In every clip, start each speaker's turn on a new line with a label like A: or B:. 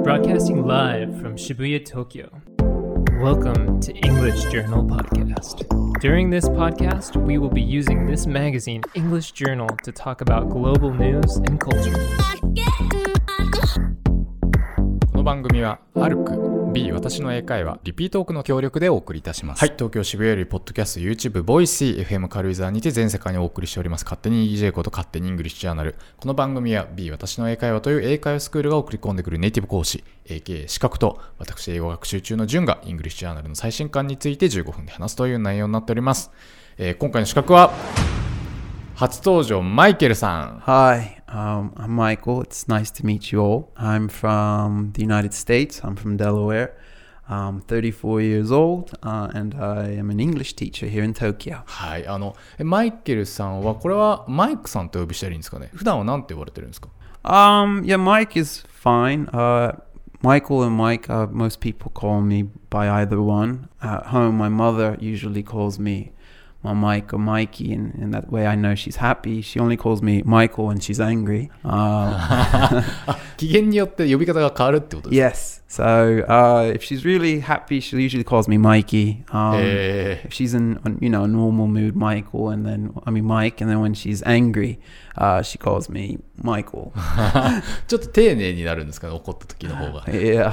A: Broadcasting live from Shibuya, Tokyo. Welcome to English Journal Podcast. During this podcast, we will be using this magazine, English Journal, to talk about global news and culture.
B: この番組はアルク B 私の英会話リピートークの協力でお送りいたします。はい、東京渋谷よりポッドキャスト YouTube ボイシー FM 軽井沢にて全世界にお送りしております勝手に EJ こと勝手にイングリッシュジャーナル。この番組は B 私の英会話という英会話スクールが送り込んでくるネイティブ講師 AKA 資格と私英語学習中の順がイングリッシュジャーナルの最新刊について15分で話すという内容になっております。今回の資格は初登場マイケルさん。
C: Hi, I'm Michael. It's nice to meet you all. I'm from the United States. I'm from Delaware. I'm 34 years old, and I am an English teacher here in Tokyo.
B: はい、マイケルさんはこれはマイクさんと呼びしたらいいんですかね。普段は何て呼ばれてるんですか？
C: Yeah, Mike is fine. Michael and Mike, most people call me by either one. At home, my mother usually calls me Mike or Mikey, and that way I know she's happy. She only calls me Michael when she's angry.
B: 機嫌によって呼び方が変わるってことですか？
C: Yes. So if she's really happy, she usually calls me Mikey. If she's in a normal mood, Michael, and then Mike, and then when she's angry, she calls me Michael.
B: ちょっと丁寧になるんですかね、怒った時の方が。
C: Yeah.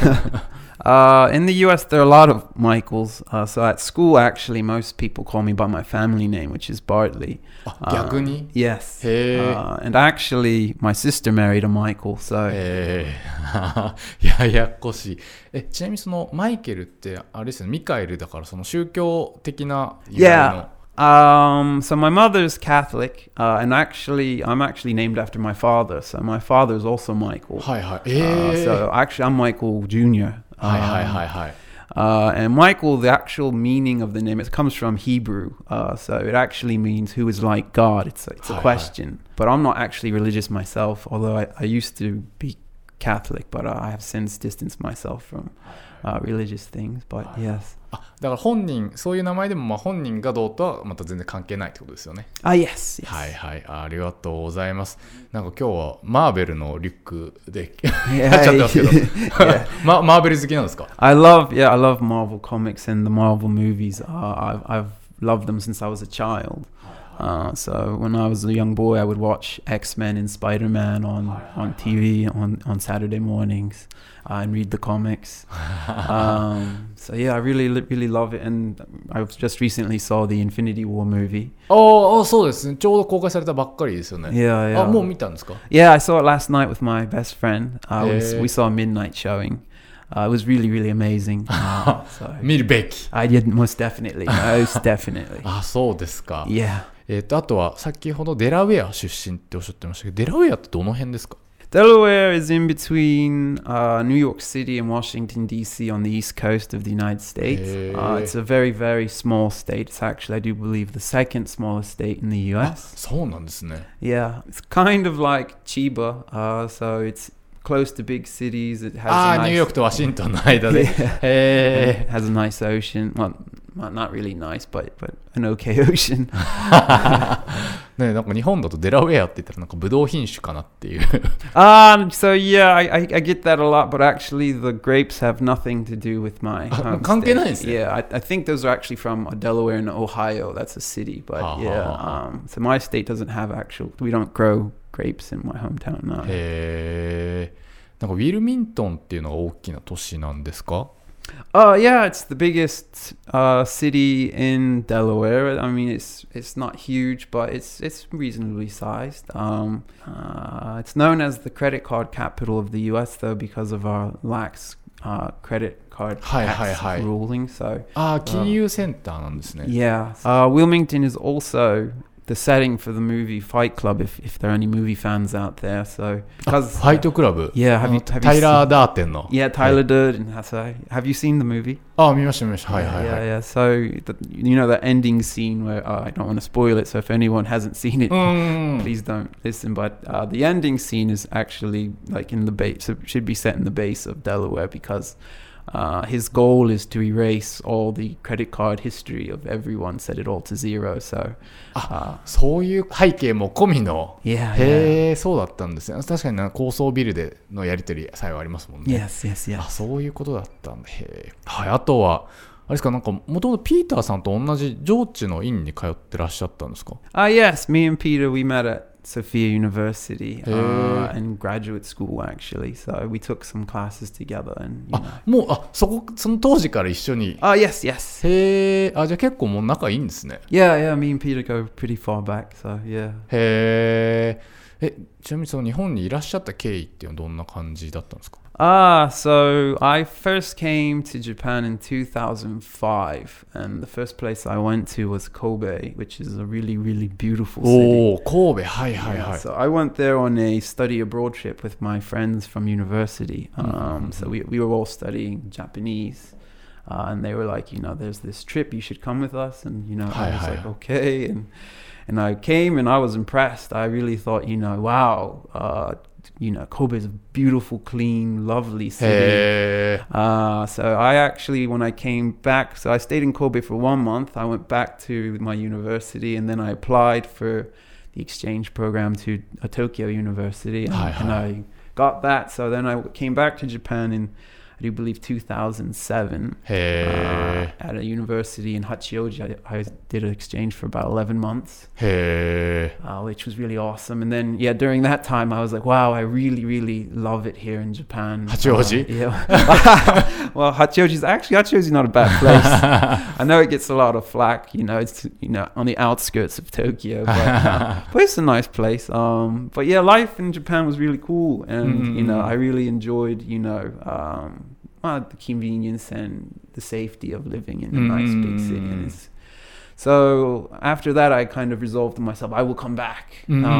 C: In the US, there are a lot of Michaels. So at school, actually, most people call me by my family name, which is Bartley.
B: 逆に？
C: Yes.
B: へー。
C: And actually, my sister married a Michael. So.
B: ややこしい。ちなみにそのマイケルってあれですよね、ミカエルだからその宗教的な由来の。
C: So my mother's Catholic, and actually, I'm actually named after my father. So my father is also Michael.
B: はいはい。
C: So actually, I'm Michael Jr.
B: はいはいはいはい。
C: And Michael, the actual meaning of the name, it comes from Hebrew. So it actually means who is like God. It's a question. But I'm not actually religious myself, although I used to be Catholic, but I have since distanced myself from religious things. But yes.
B: だから本人、そういう名前でも本人がどうとはまた全然関係ないってことですよね。
C: Yes.
B: はいはい、ありがとうございます。なんか今日はマーベルのリュックでやっちゃってますけど、マーベル好きなんですか？
C: I love Marvel comics and the Marvel movies. I've loved them since I was a child. So when I was a young boy, I would watch X-Men and Spider-Man on TV on Saturday mornings and read the comics. So yeah, I really love it. And I just recently saw the Infinity War movie.
B: そうですね。ちょうど公開されたばっかりですよね。
C: Yeah.
B: もう見たんですか？
C: Yeah, I saw it last night with my best friend. We saw a midnight showing. It was really amazing. So
B: 見るべき。
C: I did most definitely.
B: そうですか。
C: Yeah.
B: あとは先ほどデラウェア出身っておっしゃってましたけど、デラウェアってどの辺ですか？
C: Delaware is in between New York City and Washington, D.C. on the east coast of the United States. It's a very small state. It's actually, I do believe, the second smallest state in the U.S.
B: そうなんですね。
C: Yeah, it's kind of like Chiba. So it's close to big cities. It has a nice,
B: ニューヨークとワシントンの間で。
C: It has a nice ocean. Well, not really nice, but an okay ocean.
B: ね、なんか日本だとデラウェアって言ったらなんかブドウ品種かなっていう。
C: So yeah, I get that a lot, but actually the grapes have nothing to do with my home
B: 関係ないんですね。
C: Yeah, I think those are actually from Delaware and Ohio. That's a city, but so my state doesn't have we don't grow grapes in my hometown now.
B: なんかウィルミントンっていうのが大きな都市なんですか
C: ？Yeah, it's the biggest city in Delaware. I mean, it's not huge, but it's reasonably sized. It's known as the credit card capital of the U.S. though, because of our lax credit card tax ruling. So,
B: 金融センターなんですね。
C: Yeah, Wilmington is also the setting for the movie Fight Club, if there are any movie fans out there. So because
B: ファイトクラブ。
C: Yeah, have you
B: タイラー・ダーテンの。
C: Yeah, Tyler Durden. Have you seen the movie?
B: 見ました。はいはいはい。
C: Yeah. So the ending scene where I don't want to spoil it. So if anyone hasn't seen it, please don't listen. But the ending scene is actually like in the base. So it should be set in the base of Delaware because his goal is to erase all the credit card history of everyone, set it all to zero. So,
B: そういう背景も込みの。
C: yeah,
B: へえ、そうだったんですね。確かに高層ビルでのやり取りさえはありますもんね。
C: yes, yes, yes.
B: そういうことだったんだ。へえ。はい、あとは、あれですか、なんか、もともとピーターさんと同じ上智の院に通ってらっしゃったんですか？
C: Yes, me and Peter, we met at Sophia University in graduate school, actually. So we took some classes together. And, you know.
B: もう、その当時から一緒に。
C: Yes, yes.
B: へえ、じゃあ結構もう仲いいんですね。
C: Yeah, me and Peter go pretty far back, so yeah.
B: へえ。ちなみにその日本にいらっしゃった経緯っていうのはどんな感じだったんですか？
C: So I first came to Japan in 2005, and the first place I went to was Kobe, which is a really, really beautiful city.
B: 神戸、はいはいはい。
C: So I went there on a study abroad trip with my friends from university. So we were all studying Japanese. And they were like, you know, there's this trip, you should come with us. And, you know, I was like, okay. And I came and I was impressed. I really thought, you know, wow, you know, Kobe is a beautiful, clean, lovely city. So I actually, when I came back, so I stayed in Kobe for 1 month. I went back to my university and then I applied for the exchange program to Tokyo University. And I got that. So then I came back to Japan in, I do believe, 2007 at a university in Hachioji. I did an exchange for about 11 months, which was really awesome. And then, yeah, during that time, I was like, wow, I really, really love it here in Japan.
B: Hachioji?
C: Well, Hachioji is not a bad place. I know it gets a lot of flack, you know, it's, you know, on the outskirts of Tokyo, but it's a nice place. But yeah, life in Japan was really cool. And, you know, I really enjoyed, you know, the convenience and the safety of living in a nice big city. And so after that, I kind of resolved to myself, I will come back.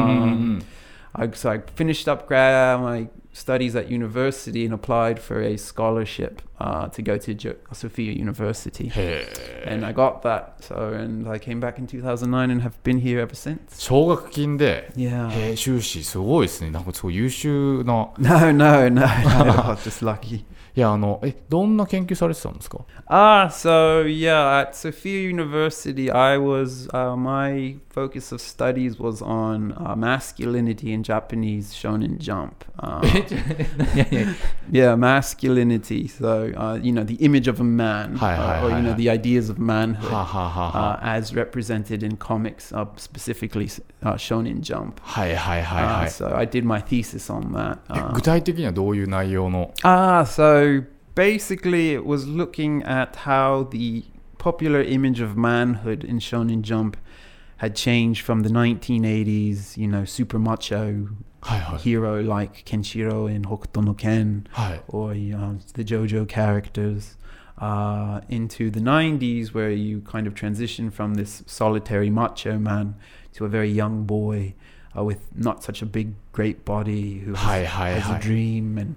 C: So I finished up my studies at university and applied for a scholarship to go to Sophia University. And I got that. And I came back in 2009 and have been here ever since.
B: 奨学金で、
C: Yeah.
B: 修士すごいですね。なんかすごい優秀な。
C: No, just lucky.
B: いや、どんな研究されてたんですか？
C: So yeah, at Sophia University, I was my focus of studies was on masculinity in Japanese Shonen Jump. Yeah, masculinity. So you know, the image of a man, or you know, the ideas of manhood as represented in comics, specifically Shonen Jump. So I did my thesis on that.
B: 具体的にはどういう内容の？
C: So basically it was looking at how the popular image of manhood in Shonen Jump had changed from the 1980s, you know, super macho hero like Kenshiro in Hokuto no Ken, or the JoJo characters, into the 90s where you kind of transition from this solitary macho man to a very young boy with not such a big, great body who has a dream and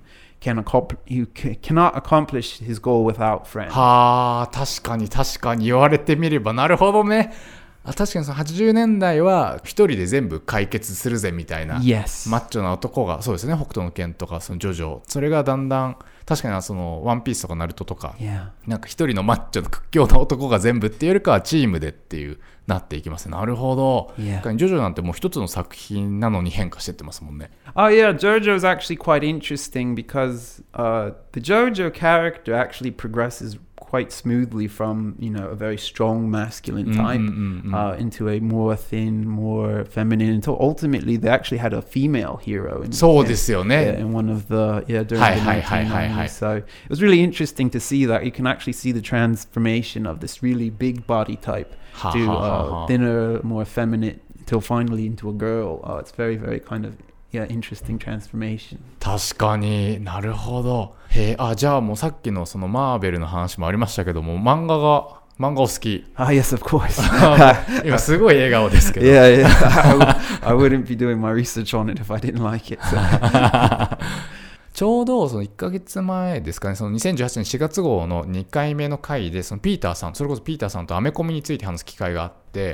C: cannot accomplish his goal without friends.
B: 確かに言われてみればなるほどね。確かにその80年代は一人で全部解決するぜみたいな、
C: Yes.
B: マッチョな男が、そうですね、北斗の拳とかそのジョジョ、それがだんだん確かにそのワンピースとかナルトとか、なんか一人のマッチョの屈強な男が全部っていうよりかはチームでっていうなっていきますね。なるほど。ジョジョなんてもう一つの作品なのに変化してってますもんね。
C: JoJo is actually quite interesting because the JoJo character actually progresses quite smoothly from, you know, a very strong masculine type into a more thin, more feminine, until ultimately they actually had a female hero in,
B: そうですよね。
C: in one of the during the 1990s. So it was really interesting to see that you can actually see the transformation of this really big body type to thinner, more feminine, until finally into a girl. It's very, very kind of interesting transformation.
B: 確かになるほど。じゃあもうさっきのそのマーベルの話もありましたけども、漫画お好き。
C: Yes, of course.
B: 今すごい笑顔ですけど。
C: I wouldn't be doing my research on it if I didn't like it. So.
B: ちょうどその1ヶ月前ですかね、その2018年4月号の2回目の回で、そのピーターさん、それこそピーターさんとアメコミについて話す機会があって、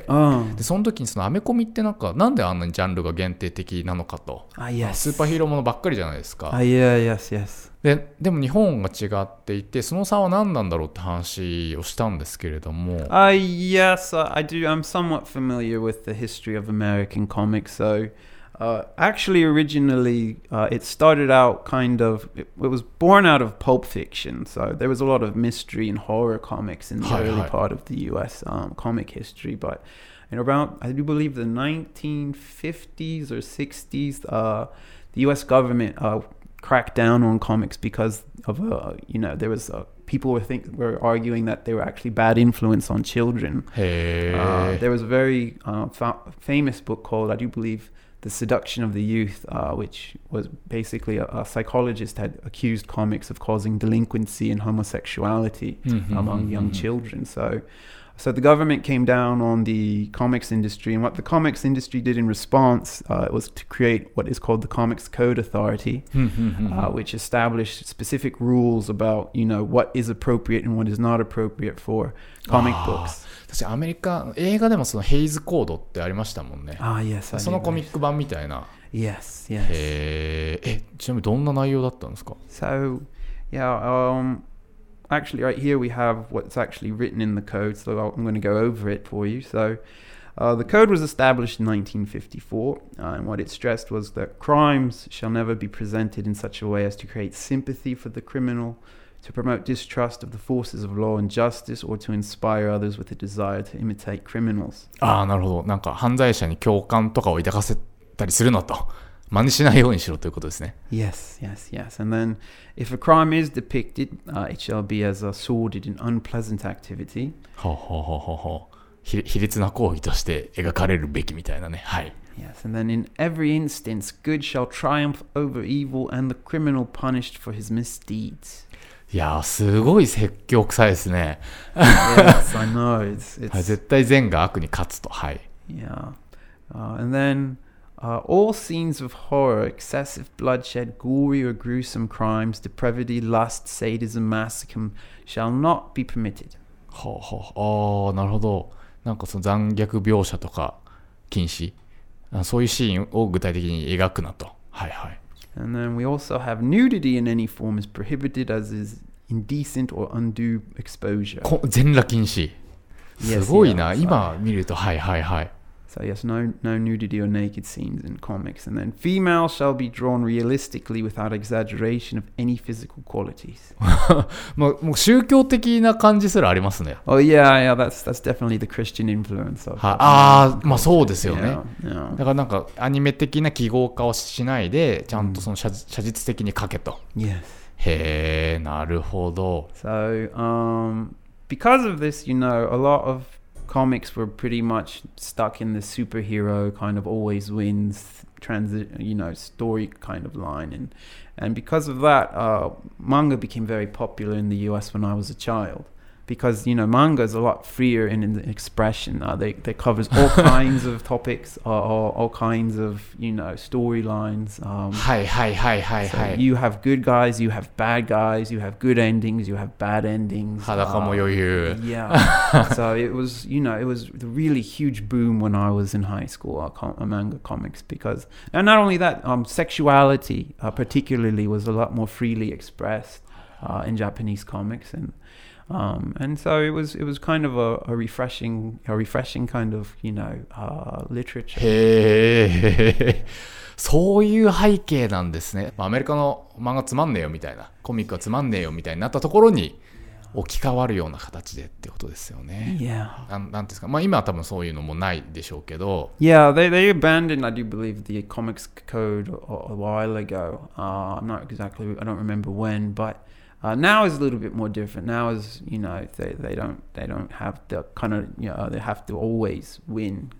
B: でその時にそのアメコミってなんであんなにジャンルが限定的なのかと、
C: yes.
B: スーパーヒーローものばっかりじゃないですか。
C: yes.
B: でも日本が違っていて、その差は何なんだろうって話をしたんですけれども。
C: Yes, I do. I'm somewhat familiar with the history of American comics. So.Actually, originally, it started out it was born out of pulp fiction. So there was a lot of mystery and horror comics in the early part of the US comic history. But in around, I do believe the 1950s or 60s, the US government cracked down on comics because of, there was people were arguing that they were actually bad influence on children. There was a very famous book called, I do believe,The Seduction of the Youth, which was basically a psychologist had accused comics of causing delinquency and homosexuality among young children. So the government came down on the comics industry, and what the comics industry did in response was to create what is called the Comics Code Authority, which established specific rules about, what is appropriate and what is not appropriate for comic books.
B: 私アメリカ映画でもそのヘイズコードってありましたもんね。
C: yes,
B: そのコミック版みたいな。
C: Yes.
B: ちなみにどんな内容だったんですか？
C: So, actually right here we have what's actually written in the code, so I'm going to go over it for you. So, the code was established in 1954, and what it stressed was that crimes shall never be presented in such a way as to create sympathy for the criminal,to promote distrust of the forces of law and justice or to inspire others with a desire to imitate criminals.
B: なるほど。なんか犯罪者に共感とかを抱かせたりするのと、真似しないようにしろということですね。
C: Yes. And then, if a crime is depicted, it shall be as a sordid and unpleasant activity.
B: 卑劣な行為として描かれるべきみたいなね。はい。
C: Yes, and then in every instance, good shall triumph over evil and the criminal punished for his misdeeds.
B: いやすごい説教臭いですね。
C: Yes, I know. It's
B: 絶対善が悪に勝つと。はい。
C: Yeah. And then, all scenes of horror, excessive bloodshed, gory or gruesome crimes, depravity, lust, sadism, masochist shall not be permitted.
B: なるほど。なんかその残虐描写とか禁止、そういうシーンを具体的に描くなと。はいはい。
C: And then we also have nudity in any form is prohibited as is indecent or undue exposure.
B: 全裸禁止。すごいな。今見ると、はい。
C: So yes, no nudity or naked scenes in comics. And then females shall be drawn realistically without exaggeration of any physical qualities.
B: もう宗教的な感じすらありますね。
C: Oh yeah, that's definitely the Christian influence of.
B: まあそうですよね。
C: Yeah.
B: だからなんかアニメ的な記号化をしないで、ちゃんとその写実的に描けと。
C: Yes.
B: へー、なるほど。
C: So, because of this, a lot of comics were pretty much stuck in the superhero kind of always wins story kind of line, and because of that, manga became very popular in the US when I was a child. Because manga is a lot freer in expression. They covers all kinds of topics, all kinds of storylines. So you have good guys, you have bad guys, you have good endings, you have bad endings.
B: 裸も余裕。
C: Yeah. So it was it was a really huge boom when I was in high school. Manga comics and not only that, sexuality particularly was a lot more freely expressed in Japanese comics and so it was kind of a refreshing kind of literature.
B: へー、そういう背景なんですね。アメリカの漫画つまんねえよみたいな、コミックはつまんねえよみたいになったところに置き換わるような形でってことですよね。
C: Yeah.
B: なんですか。まあ今は多分そういうのもないでしょうけど。
C: Yeah, they abandoned, I do believe, the comics code a while ago. I don't remember when, but.Now is a little bit more different. Now is they don't have the kind of they have to always win.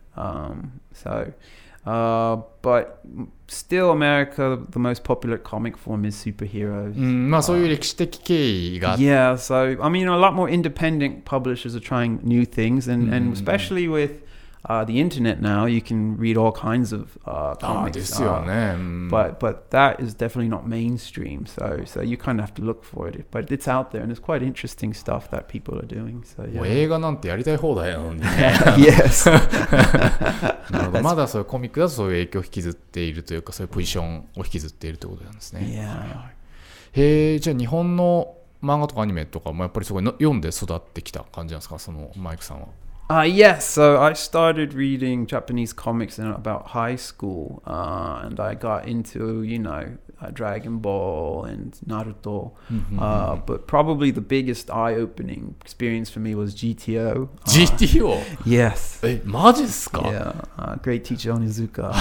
C: But still, America, the most popular comic form is superheroes.
B: まあそういう歴史的経緯が。
C: Yeah, so I mean, a lot more independent publishers are trying new things, and especially with the internet now, you can read all kinds of comics.
B: ですよね。
C: But that is definitely not mainstream. So you kind of have to look for it. But it's out there, and it's quite interesting stuff that people are doing. So
B: もう映画なんてやりたい放題なのにね。
C: Yes.
B: なるほど。まだそういうコミックだとそういう影響を引きずっているというか、そういうポジションを引きずっているということなんですね。
C: Yeah.
B: じゃあ日本の漫画とかアニメとかもやっぱりすごい読んで育ってきた感じなんですか、そのマイクさんは。
C: Yes, so I started reading Japanese comics in about high school, and I got into, Dragon Ball and Naruto. But probably the biggest eye-opening experience for me was GTO.
B: GTO?
C: Yes.
B: マジっすか?
C: Yeah, great teacher Onizuka.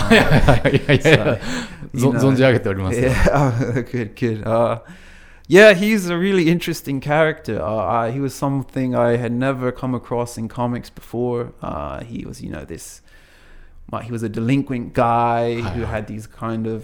B: 存じ上げております。
C: Yeah, good. Yeah, he's a really interesting character. He was something I had never come across in comics before. He was, he was a delinquent guy who had these kind of,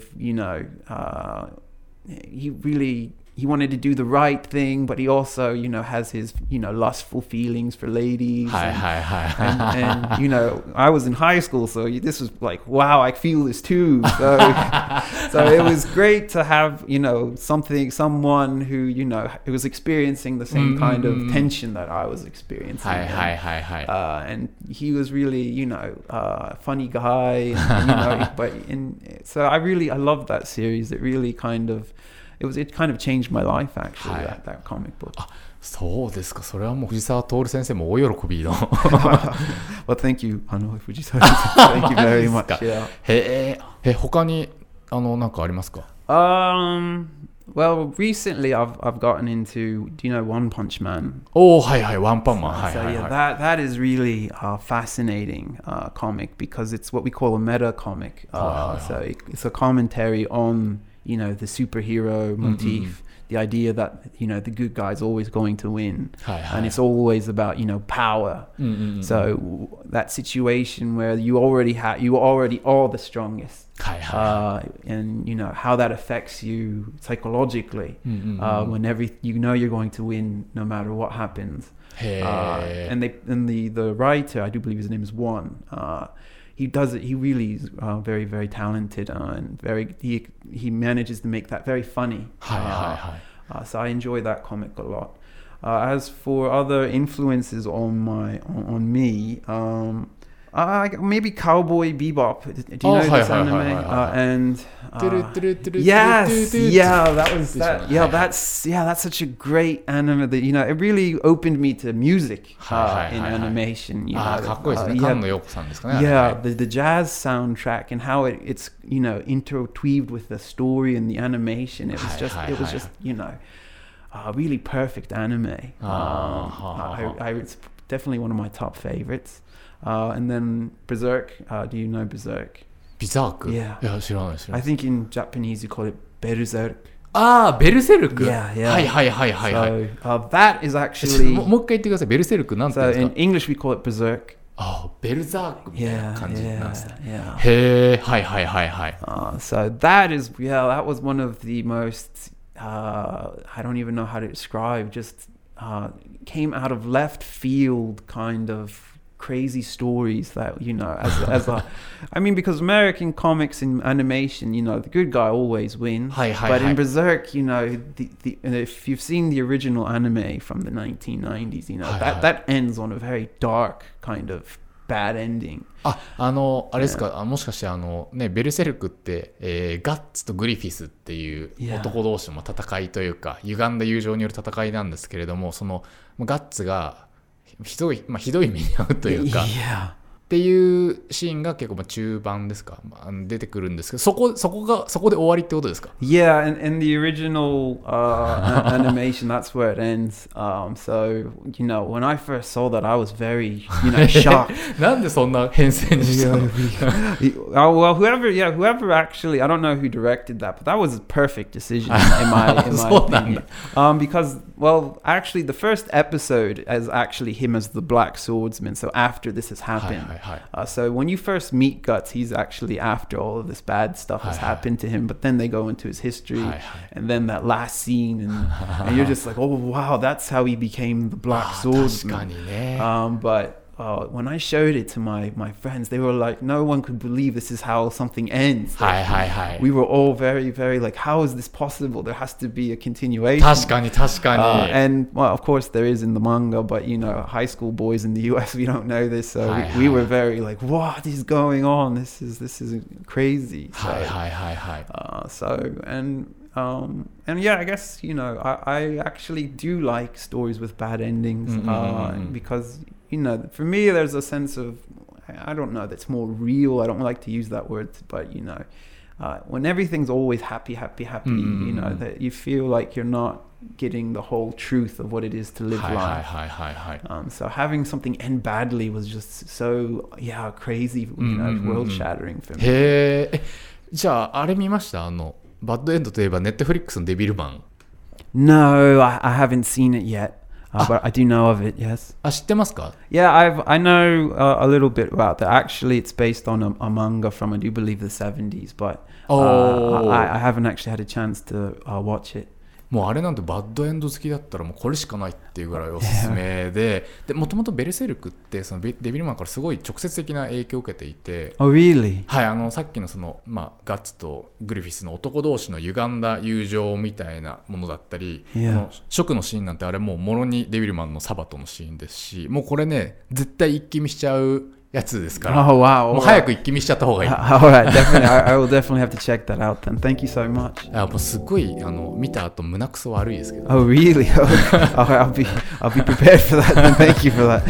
C: he wanted to do the right thing, but he also, has his, lustful feelings for ladies. And I was in high school, so this was like, wow, I feel this too. So it was great to have, someone who, who was experiencing the same kind of tension that I was experiencing. And he was really, a funny guy, so I loved that series. It really kind of, it kind of changed my life actually, that comic book.
B: そうですか。それはもう藤沢徹先生も大喜びの。
C: Well, thank you, 藤沢先生。Thank you very much. Yeah.
B: 他になんかありますか?
C: Well, recently I've gotten into, do you know One Punch Man?
B: はいはい、ワンパンマン。
C: So yeah, that is really fascinating comic because it's what we call a meta comic. So it's a commentary on, the superhero motif, the idea that, the good guy is always going to win. And it's always about, power. So that situation where you already are the strongest. And, how that affects you psychologically when you're going to win no matter what happens. And the writer, I do believe his name is One, he does it. He really is very, very talented and he manages to make that very funny. So I enjoy that comic a lot. As for other influences on me, maybe Cowboy Bebop. Do you know this anime? Yes, that's such a great anime that it really opened me to music in animation.
B: かっこいいですね。菅野陽子さんですかね。
C: Yeah, the jazz soundtrack and how it's interweaved with the story and the animation. It was just really perfect anime. It's definitely one of my top favorites. And then Berserk. Do you know Berserk?
B: Berserk?
C: Yeah.
B: いや、知らない。
C: I think in Japanese you call it Berserk.
B: ベルセルク?
C: Yeah.
B: はい。
C: So, that is actually...
B: もう一回言ってください。ベルセルクなんて言うんですか?
C: So in English we call it Berserk.
B: ベルザークみたいな感じなんですね。
C: へ
B: ー、はい。
C: So that was one of the most, I don't even know how to describe, just came out of left field kind of crazy stories that, because American comics and animation, the good guy always wins. But in Berserk, if you've seen the original anime from the 1990s, that ends on a very dark kind of bad ending.
B: あれですか、もしかしてベルセルクって、ガッツとグリフィスっていう男同士の戦いというか、歪んだ友情による戦いなんですけれども、そのガッツがひどい目に遭うというか、っていうシーンが結構中盤ですか、出てくるんですけど、そこで終わりってことですか?
C: Yeah, in the original animation, that's where it ends. So, when I first saw that, I was very, shocked.
B: なんでそんな編成にしたの?
C: Well, whoever actually, I don't know who directed that, but that was a perfect decision in my opinion. Because, well, actually, the first episode is actually him as the Black Swordsman. So after this has happened. So when you first meet Guts, he's actually after all of this bad stuff has happened to him, but then they go into his history, and then that last scene, and you're just like, oh wow, that's how he became the Black Swordsman. But when I showed it to my friends, they were like, no one could believe this is how something ends.
B: はいはいはい。
C: We were all very, very like, how is this possible? There has to be a continuation.
B: 確かに確かに。
C: And well, of course there is in the manga, but you know, high school boys in the US, we don't know this, so we were very like, what is going on? This is crazy. So,
B: はいはいはいはい。
C: so and yeah, I guess, you know, I actually do like stories with bad endings, because, you know, for me there's a sense of, I don't know, that's more real. I don't like to use that word, but you know, when everything's always happy, you know, that you feel like you're not getting the whole truth of what it is to live life. So having something end badly was just so, crazy, you know, world shattering for me.
B: へえ。じゃああれ見ました？バッドエンドといえばネットフリックスのデビルマン。
C: No, I haven't seen it yet, but I do know of it. Yes.
B: 知ってますか？
C: Yeah, I know a little bit about that. Actually, it's based on a manga from, I do believe, the 70s, but I haven't actually had a chance to watch it.
B: もうあれなんてバッドエンド好きだったらもうこれしかないっていうぐらいおすすめで、もともとベルセルクってそのデビルマンからすごい直接的な影響を受けていて、
C: Oh, really?
B: はい、さっきのその、ガッツとグリフィスの男同士の歪んだ友情みたいなものだったり、食のシーンなんてあれもうもろにデビルマンのサバトのシーンですし、もうこれね絶対一気見しちゃうやつですから、
C: Oh, wow.
B: もう早く一気見しちゃった方がいい。
C: Alright, definitely. I will definitely have to check that out then. Thank you so much.
B: もうすごい見た後胸くそ悪いですけど。
C: Oh, really? I'll be prepared for that then. Thank you for that.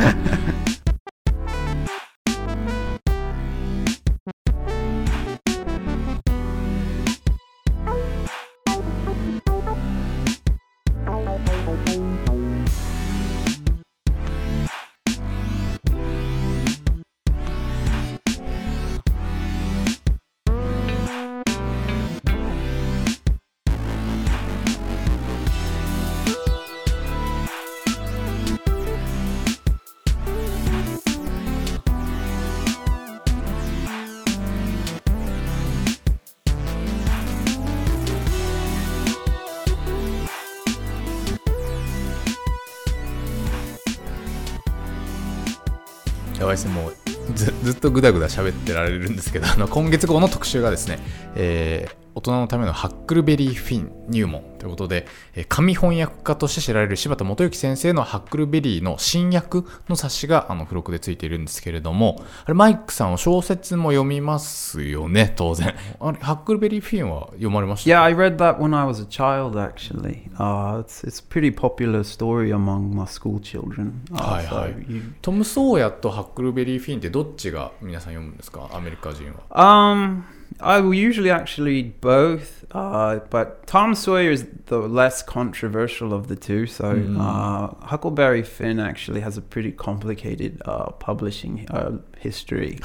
B: やばいですね、もうずっとグダグダ喋ってられるんですけど、今月号の特集がですね、大人のためのハックルベリーフィン入門ということで、紙翻訳家として知られる柴田元幸先生のハックルベリーの新訳の冊子が付録でついているんですけれども、あれマイクさんは小説も読みますよね、当然。あれハックルベリーフィンは読まれました？
C: Yeah, I read that when I was a child actually. It's a pretty popular story among my school children.
B: はいはい。トム・ソーヤとハックルベリーフィンってどっちが皆さん読むんですか？アメリカ人は。
C: I will usually actually read both, but Tom Sawyer is the less controversial of the two. So Huckleberry Finn actually has a pretty complicated publishing history.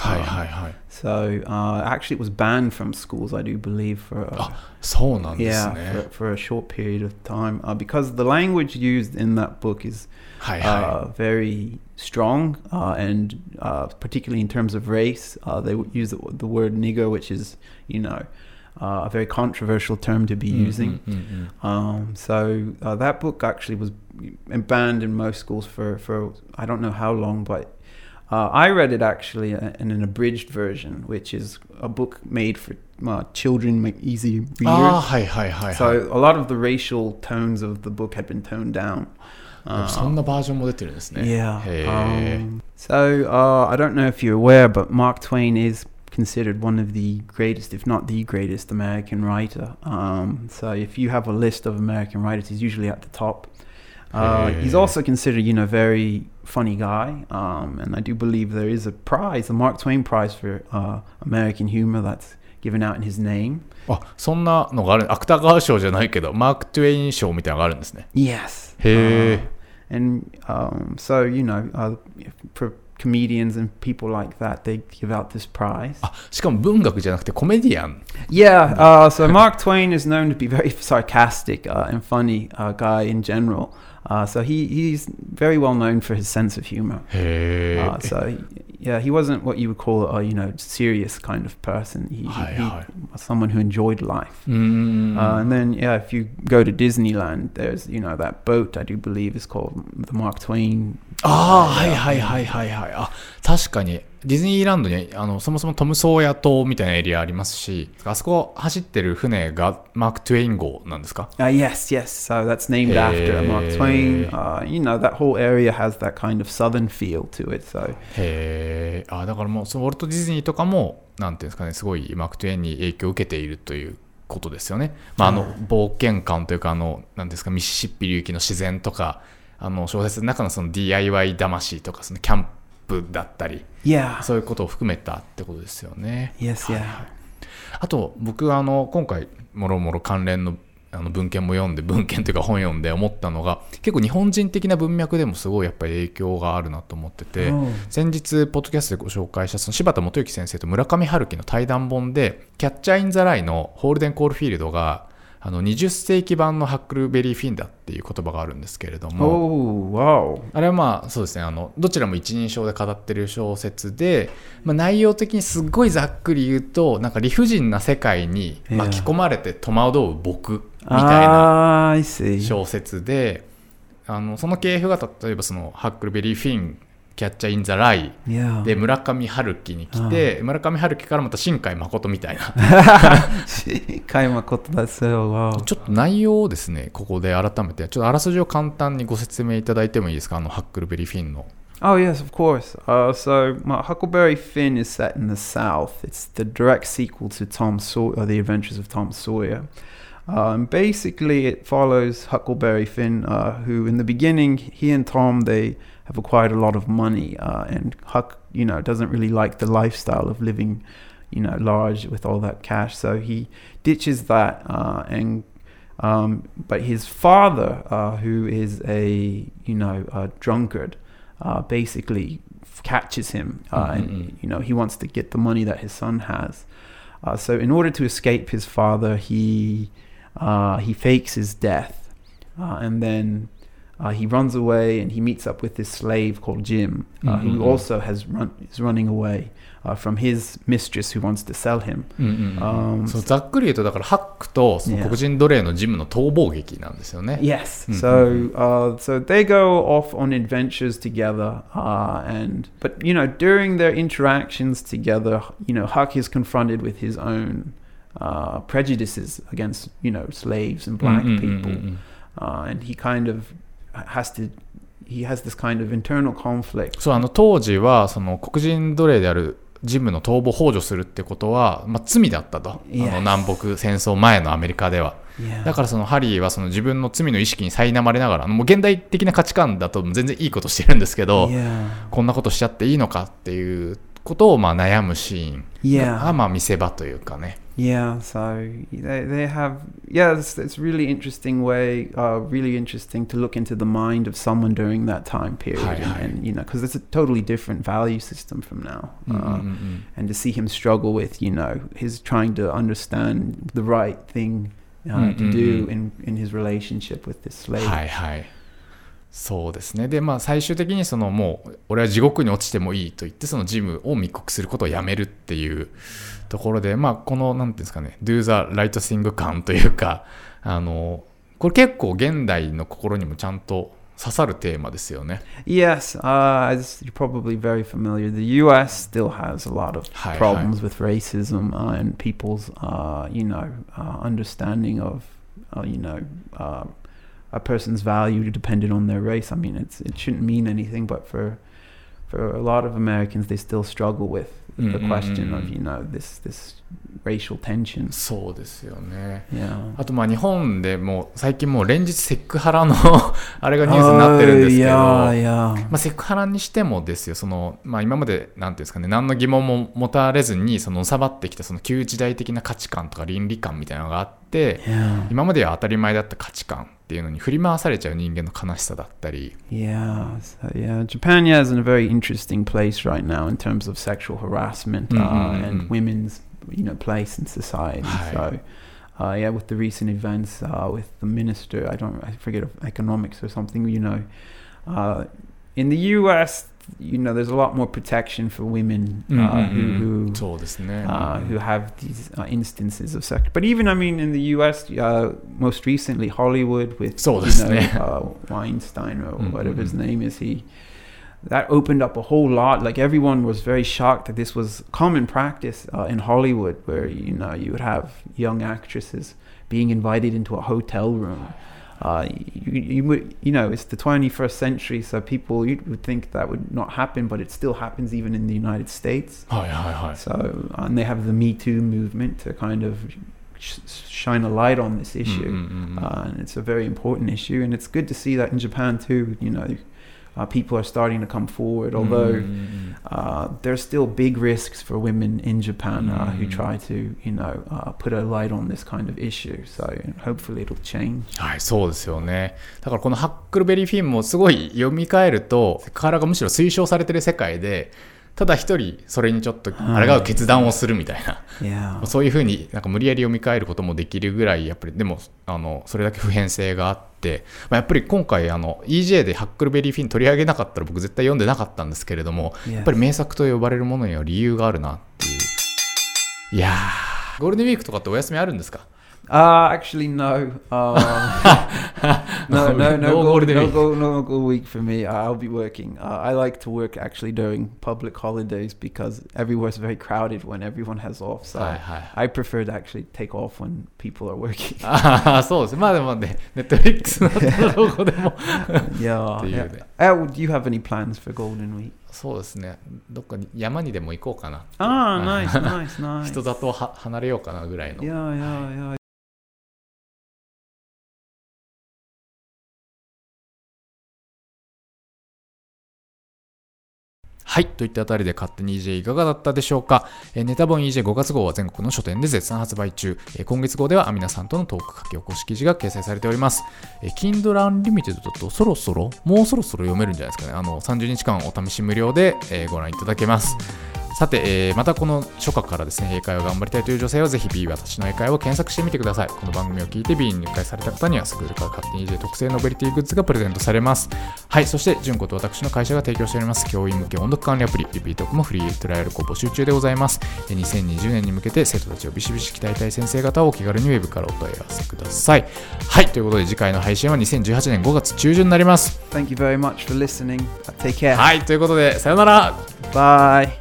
C: So actually it was banned from schools, I do believe, for for a short period of time, because the language used in that book is very strong, and particularly in terms of race, they use the word nigger, which is, you know, a very controversial term to be using. So that book actually was banned in most schools for I don't know how long, but I read it actually in an abridged version, which is a book made for children, easy readers. So a lot of the racial tones of the book had been toned down.
B: そんなバージョンも出てるんですね。
C: So I don't know if you're aware, but Mark Twain is considered one of the greatest, if not the greatest, American writer. So if you have a list of American writers, he's usually at the top. He's also considered, you know, very funny guy, and I do believe there is a prize, the Mark Twain Prize for American humor that's given out in his name.
B: そんなのがある。芥川賞じゃないけどマーク・トゥエイン賞みたいなのがあるんですね。
C: Yes. And so, you know, for comedians and people like that, they give out this prize.
B: しかも文学じゃなくてコメディアン。
C: Yeah, so Mark Twain is known to be very sarcastic and funny guy in general. So he's very well known for his sense of humor. So yeah, he wasn't what you would call a, you know, serious kind of person. He was someone who enjoyed life. And then yeah, if you go to Disneyland, there's, you know, that boat I do believe is called the Mark Twain
B: はいはいはいはいはい。確かにディズニーランドにそもそもトム・ソーヤ島みたいなエリアありますし、あそこ走ってる船がマーク・トゥエイン号なんですか？
C: Yes. So that's named after Mark Twain. That whole area has that kind of southern feel to it. So.
B: へー。だからもうそのウォルト・ディズニーとかもなんていうんですかね、すごいマーク・トゥエインに影響を受けているということですよね。冒険感というかなんですか、ミシシッピ流域の自然とか、小説の中のその DIY 魂とか、そのキャンプだったり、そういうことを含めたってことですよね。
C: Yes, yeah.
B: あと僕今回もろもろ関連の文献も読んで、文献というか本読んで思ったのが、結構日本人的な文脈でもすごいやっぱり影響があるなと思ってて、先日ポッドキャストでご紹介したその柴田元幸先生と村上春樹の対談本で、キャッチャー・イン・ザ・ライのホールデン・コールフィールドが20世紀版のハックルベリー・フィンだっていう言葉があるんですけれども、あれはそうですね、どちらも一人称で語ってる小説で、内容的にすっごいざっくり言うと、なんか理不尽な世界に巻き込まれて戸惑う僕みたいな小説で、その系譜が例えばそのハックルベリー・フィン、キャッチャー・イン・ザ・ライで村上春樹に来て、村上春樹からまた新海誠みたいな
C: 新海誠だそう。
B: ちょっと内容をですね、ここで改めてちょっとあらすじを簡単にご説明いただいてもいいですか？ハックルベリー・フィンの。
C: Oh yes, of course. Huckleberry Finn is set in the South. It's the direct sequel to Tom Sawyer, The Adventures of Tom Sawyer. Basically, it follows Huckleberry Finn, who in the beginning, he and Tom, they have acquired a lot of money, and Huck, doesn't really like the lifestyle of living, large with all that cash. So he ditches that, but his father, who is a drunkard, basically catches him, and he wants to get the money that his son has. So in order to escape his father, he fakes his death, and then he runs away, and he meets up with this slave called Jim, who also is running away from his mistress who wants to sell him.
B: そうざっくり言うと、だからハックとその黒人奴隷のジムの逃亡劇なんですよね。
C: Yes. So they go off on adventures together, but during their interactions together, Huck is confronted with his own prejudices against slaves and black people, and he kind of he has this kind of internal conflict.
B: そう当時はその黒人奴隷であるジムの逃亡を幇助するってことは、罪だったと、南北戦争前のアメリカでは。だからそのハリーはその自分の罪の意識に苛まれながら、もう現代的な価値観だと全然いいことしてるんですけど、こんなことしちゃっていいのかっていうことを悩むシーンが見せ場というかね。
C: Yeah, so they have, it's really interesting way, really interesting to look into the mind of someone during that time period, and because it's a totally different value system from now, and to see him struggle with, his trying to understand the right thing to do in his relationship with this slave.
B: そうですね。で、最終的にもう俺は地獄に落ちてもいいと言って、そのジムを密告することをやめるっていうところで、このなんていうんですかね、Do the right thing 感というか、これ結構現代の心にもちゃんと刺さるテーマですよね。
C: Yes, as you're probably very familiar, the U.S. still has a lot of problems with racism and people's, understanding of, a person's value depended on their race. I mean, it shouldn't mean anything, but for a lot of Americans, they still struggle with the question of, this racial tension.
B: そうですよね。あと日本でも最近もう連日セクハラのあれがニュースになってるんですけど、セクハラにしてもですよ、今までなんていうんですかね、何の疑問も持たれずにのさばってきたその旧時代的な価値観とか倫理観みたいなのがあって、今までは当たり前だった価値観っていうのに振り回されちゃう人間の悲しさだったり。
C: Japan is in a very interesting place right now in terms of sexual harassment and women's place in society. So with the recent events with the minister, I forget of economics or something, in the US, there's a lot more protection for women who have these instances of sex. But even, in the US, most recently Hollywood with Weinstein or whatever his name is, that opened up a whole lot. Like everyone was very shocked that this was common practice in Hollywood, where you would have young actresses being invited into a hotel room. It's the 21st century, so people you would think that would not happen, but it still happens even in the United States. So and they have the Me Too movement to kind of shine a light on this issue, and it's a very important issue, and it's good to see that in Japan too. People are starting to come forward, although there's still big risks for women in Japan who try to, put a light on this kind of issue. So hopefully it'll change.
B: はい、そうですよね。だからこのハックルベリーフィンもすごい読み替えると、セクハラがむしろ推奨されてる世界で、ただ一人それにちょっと抗う決断をするみたいな、そういうふうになんか無理やり読み替えることもできるぐらい、やっぱりでもそれだけ普遍性があって、やっぱり今回EJ でハックルベリーフィン取り上げなかったら僕絶対読んでなかったんですけれども、やっぱり名作と呼ばれるものには理由があるなっていう。いやー、ゴールデンウィークとかってお休みあるんですか
C: ？Actually, no. No golden week for me. I'll be working. I like to work actually during public holidays because everywhere's very crowded when everyone has off. So I prefer to actually take off when people are working.
B: そうです。まあでもね、Netflix だったらどこでも。
C: Yeah. Do you have any plans for Golden Week?
B: そうですね。どっかに山にでも行こうかな。
C: Nice.
B: 人里離れようかなぐらいの。
C: Yeah.
B: はい。といったあたりで勝手に EJ いかがだったでしょうか。ネタ本 EJ5 月号は全国の書店で絶賛発売中。今月号ではアミナさんとのトーク書き起こし記事が掲載されております。Kindle Unlimited だともうそろそろ読めるんじゃないですかね。30日間お試し無料でご覧いただけます。さて、またこの初夏からですね、英会話を頑張りたいという女性はぜひ B 私の英会話を検索してみてください。この番組を聞いて B に入会された方にはスクールから勝手に EJ 特製ノベリティグッズがプレゼントされます。はい、そして純子と私の会社が提供しております教員向け音読管理アプリリピートークもフリートライアルを募集中でございます。2020年に向けて生徒たちをビシビシ鍛えたい先生方をお気軽にウェブからお問い合わせください。はい、ということで次回の配信は2018年5月中旬になります。
C: Thank you very much for listening. Take care.
B: はい、ということでさよなら。
C: Bye.